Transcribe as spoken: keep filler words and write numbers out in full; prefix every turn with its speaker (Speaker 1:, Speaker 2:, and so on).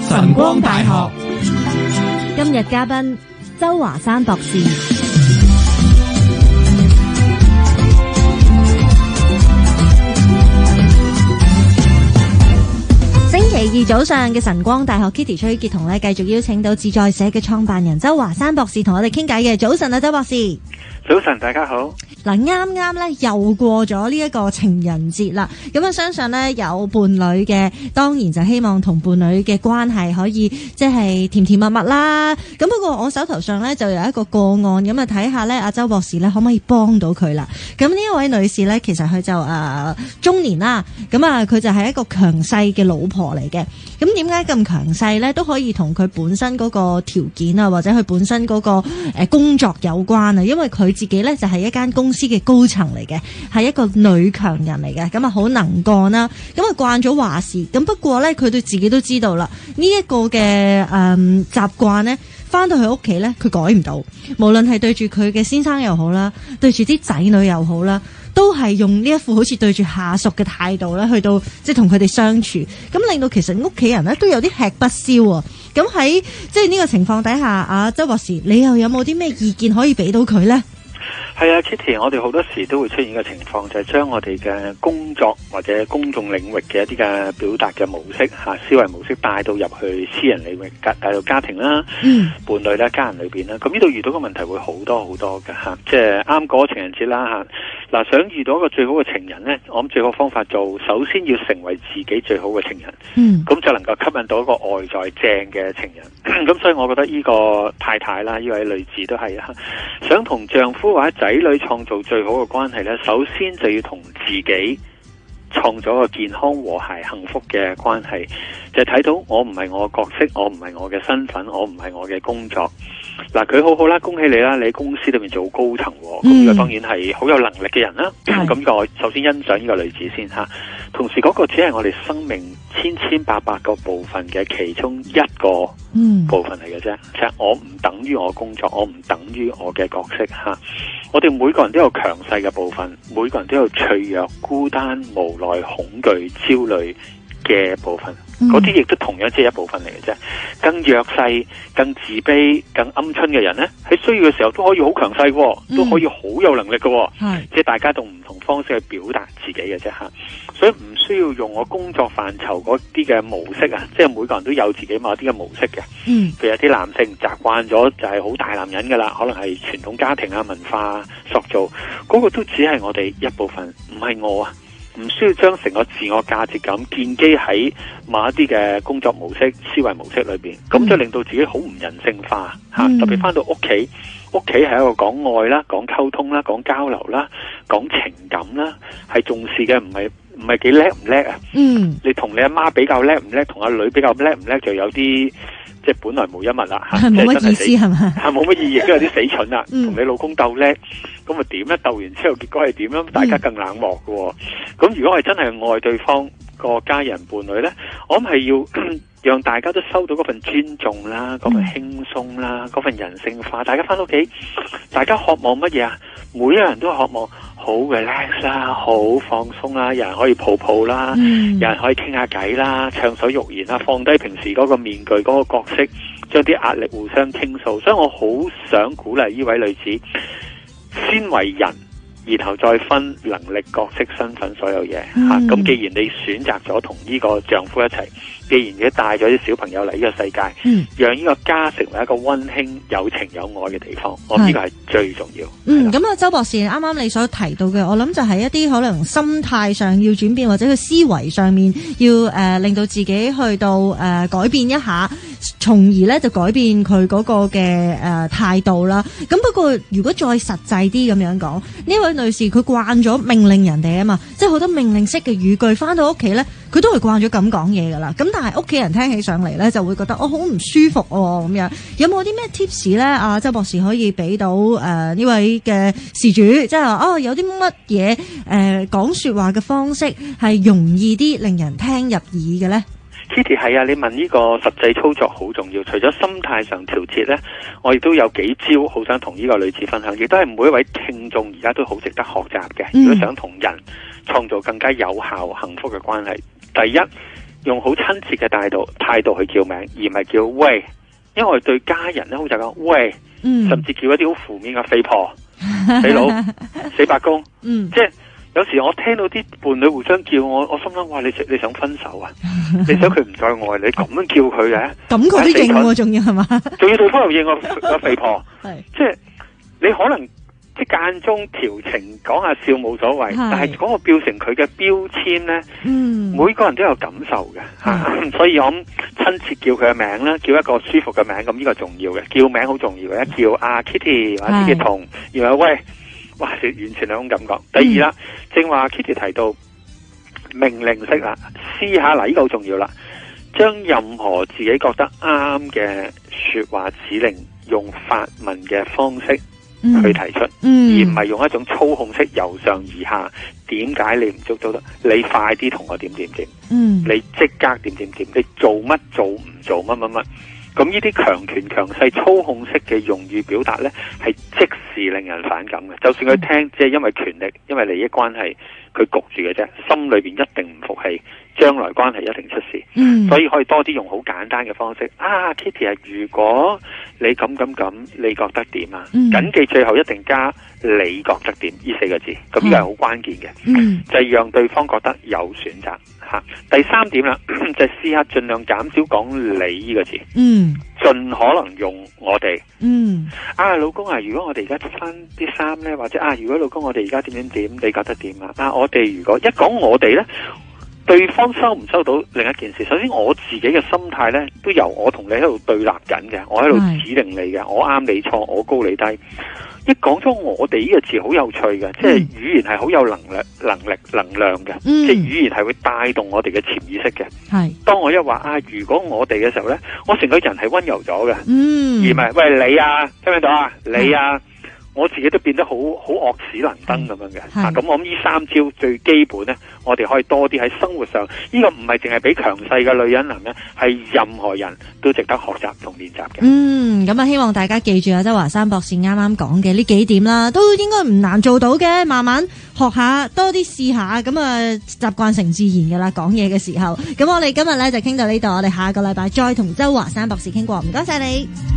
Speaker 1: 晨光大學。
Speaker 2: 今日嘉賓周華山博士。星期二早上嘅晨光大學 Kitty 崔潔彤咧，繼續邀請到自在社嘅創辦人周華山博士同我哋傾偈嘅。早晨啊，周博士。
Speaker 3: 早晨，大家好。
Speaker 2: 嗱，啱啱咧又過咗呢一個情人節啦，咁啊相信咧有伴侶嘅，當然就希望同伴侶嘅關係可以即係甜甜蜜蜜啦。咁不過我手頭上咧就有一個個案，咁啊睇下咧阿周博士咧可唔可以幫到佢啦？咁呢一位女士咧，其實佢就誒、呃、中年啦，咁啊佢就係一個強勢嘅老婆嚟嘅。咁點解咁強勢咧？都可以同佢本身嗰個條件啊，或者佢本身嗰個誒工作有關啊。因為佢自己咧就係一間公司嘅高層嚟嘅，係一個女強人嚟嘅，咁啊好能幹啦，咁啊慣咗話事。咁不過咧，佢對自己都知道啦，呢一個嘅誒習慣咧，翻到去屋企咧，佢改唔到。無論係對住佢嘅先生又好啦，對住啲仔女又好啦，都係用呢一副好似對住下屬嘅態度咧，去到即係同佢哋相處，咁令到其實屋企人咧都有啲吃不消啊。咁喺即係呢個情況底下，啊周博士，你又有冇啲咩意見可以俾到佢咧？
Speaker 3: 係啊 Kitty， 我哋好多時都會出現嘅情況，就係將我哋嘅工作或者公眾領域嘅一啲嘅表達嘅模式吓、思維模式帶到入去私人領域，帶到家庭啦、嗯、伴侶啦、家人裏邊啦。咁呢度遇到嘅問題會好多好多嘅吓，即係啱過情人節啦吓。嗱，想遇到一個最好嘅情人呢，我諗最好方法做，首先要成為自己最好嘅情人，嗯，咁就能夠吸引到一個外在正嘅情人。咁所以我覺得呢個太太啦，呢位女士都係啊，想同丈夫或者仔女創造最好嘅關係呢，首先就要同自己創造一個健康和諧幸福嘅關係，就係睇到我唔係我嘅角色，我唔係我嘅身份，我唔係我嘅工作。嗱，佢好好啦，恭喜你啦！你喺公司裏面做高層，咁呢個當然係好有能力嘅人啦。咁個、嗯、首先欣賞呢個女子先吓，同時嗰個只係我哋生命千千百百個部分嘅其中一個部分嚟嘅啫。即係、嗯、我唔等於我工作，我唔等於我嘅角色吓。我哋每個人都有強勢嘅部分，每個人都有脆弱、孤單、無奈、恐懼、焦慮嘅部分。嗰啲亦都同樣只係一部分嚟嘅啫。更弱勢、更自卑、更鵪鶉嘅人呢，喺需要嘅時候都可以好強勢嘅，嗯、都可以好有能力嘅。係即係大家用唔同方式去表達自己嘅啫吓。所以唔需要用我工作範疇嗰啲嘅模式啊，即係每個人都有自己某啲嘅模式嘅。嗯，譬如有啲男性習慣咗就係好大男人噶啦，可能係傳統家庭啊、文化塑造，嗰、嗰個都只係我哋一部分，唔係我啊。唔需要將成個自我價值感建基喺某一啲嘅工作模式、思維模式裏邊，咁、嗯、就令到自己好唔人性化吓。嗯、特別翻到屋企，屋企係一個講愛啦、講溝通啦、講交流啦、講情感啦，係重視嘅，唔係唔係幾叻唔叻啊？嗯，你同你阿媽比較叻唔叻，同阿女比較叻唔叻，就有啲即係本來無一物啦吓，冇乜意思係嘛？係冇乜意義，都有啲死蠢啦。同、嗯、你老公鬥叻，咁啊點咧？鬥完之後結果係點樣？大家更冷漠嘅、哦。咁、嗯、如果係真係愛對方個家人伴侶咧，我諗係要讓大家都收到嗰份尊重啦，嗰份輕鬆啦，嗰份人性化。大家翻到屋企，大家渴望乜嘢啊？每一個人都渴望好 relax 啦，好放鬆啦，有人可以抱抱啦，嗯、有人可以傾下偈啦，暢所欲言啦，放低平時嗰個面具嗰個角色，將啲壓力互相傾訴。所以我好想鼓勵呢位女子，先為人，然後再分能力、角色、身份所有嘢吓。咁、嗯啊、既然你選擇咗同呢個丈夫一齊，既然你帶咗啲小朋友嚟呢個世界，嗯、讓呢個家成為一個溫馨、有情有愛嘅地方，我呢個係最重要。
Speaker 2: 嗯，咁啊，周博士啱啱你所提到嘅，我諗就係一啲可能心態上要轉變，或者佢思維上面要誒、呃、令到自己去到誒、呃、改變一下，從而咧就改變佢嗰個嘅誒態度啦。咁不過如果再實際啲咁樣講，呢位女士佢慣咗命令人哋啊嘛，即係好多命令式嘅語句，翻到屋企咧，佢都係慣咗咁講嘢噶啦。咁但係屋企人聽起上嚟咧，就會覺得我好唔舒服喎咁樣。有冇啲咩 tips 咧？啊，周博士可以俾到誒呢、呃、位嘅事主，即係話哦，有啲乜嘢誒講說話嘅方式係容易啲令人聽入耳嘅咧？
Speaker 3: Kitty 係啊，你問呢個實際操作好重要。除咗心態上調節呢，我亦都有幾招好想同呢個女子分享，亦都係每一位聽眾而家都好值得學習嘅。如果想同人創造更加有效幸福嘅關係，第一用好親切嘅態度態度去叫名，而唔係叫喂。因為我哋對家人咧好就講喂，嗯、甚至叫一啲好負面嘅肥婆、死佬、死伯公，嗯、即係有時我聽到啲伴侶互相叫我，我心諗哇，你你想分手啊？你想佢唔再愛你，咁樣叫佢嘅，
Speaker 2: 咁佢都應喎，仲要係嘛？仲
Speaker 3: 要對方又應我個肥婆，係即係你可能。即係間中調情講下笑冇所謂，但係嗰個變成佢嘅標籤咧，嗯、每個人都有感受嘅吓、啊，所以我諗親切叫佢嘅名啦，叫一個舒服嘅名，咁呢個重要嘅，叫名好重要嘅，一叫阿 Kitty 或者 Kitty 同，然後喂，哇，完全兩種感覺。第二啦，嗯、正話 Kitty 提到命令式啦，試下嗱，呢、這個好重要啦，將任何自己覺得啱嘅說話指令，用發問嘅方式。去提出，嗯、而唔係用一種操控式由上而下。點解你唔捉到得？你快啲同我點點點，嗯、你即刻點點點，你做乜做唔做乜乜乜？咁呢啲強權強勢操控式嘅用語表達呢，係即時令人反感嘅。就算佢聽，即係因為權力、因為利益關係，佢焗住嘅啫，心裏邊一定唔服氣，將來關係一定出事。嗯、所以可以多啲用好簡單嘅方式。啊 ，Kitty 啊，如果你咁咁咁，你覺得點啊？嗯、謹記最後一定加你覺得點呢四個字，咁呢個係好關鍵嘅，嗯、就係讓對方覺得有選擇。吓，第三點啦，就係試下盡量減少講你呢個字，嗯，盡可能用我哋，嗯，啊老公啊，如果我哋而家着翻啲衫咧，或者啊，如果老公我哋而家點點點，你覺得點啊？啊，我哋如果一講我哋咧，對方收唔收到另一件事？首先我自己嘅心態咧，都由我同你喺度對立緊嘅，我喺度指定你嘅，我啱你錯，我高你低。一講咗我哋呢個字好有趣嘅，即係語言係好有能力、能力、能量嘅，嗯、即係語言係會帶動我哋嘅潛意識嘅。係是，當我一話啊，如果我哋嘅時候咧，我成個人係溫柔咗嘅，嗯、而唔係喂你啊，聽唔聽到啊？你啊，是我自己都變得好好惡死能登咁樣嘅。啊，咁我諗呢三招最基本咧，我哋可以多啲喺生活上，呢、這個唔係淨係俾強勢嘅女人男人，係任何人都值得學習同練習嘅。嗯，
Speaker 2: 咁啊，希望大家記住啊，周華山博士啱啱講嘅呢幾點啦，都應該唔難做到嘅，慢慢學下，多啲試下，咁啊習慣成自然噶啦。講嘢嘅時候，咁我哋今日咧就傾到呢度，我哋下個禮拜再同周華山博士傾過，唔該晒你。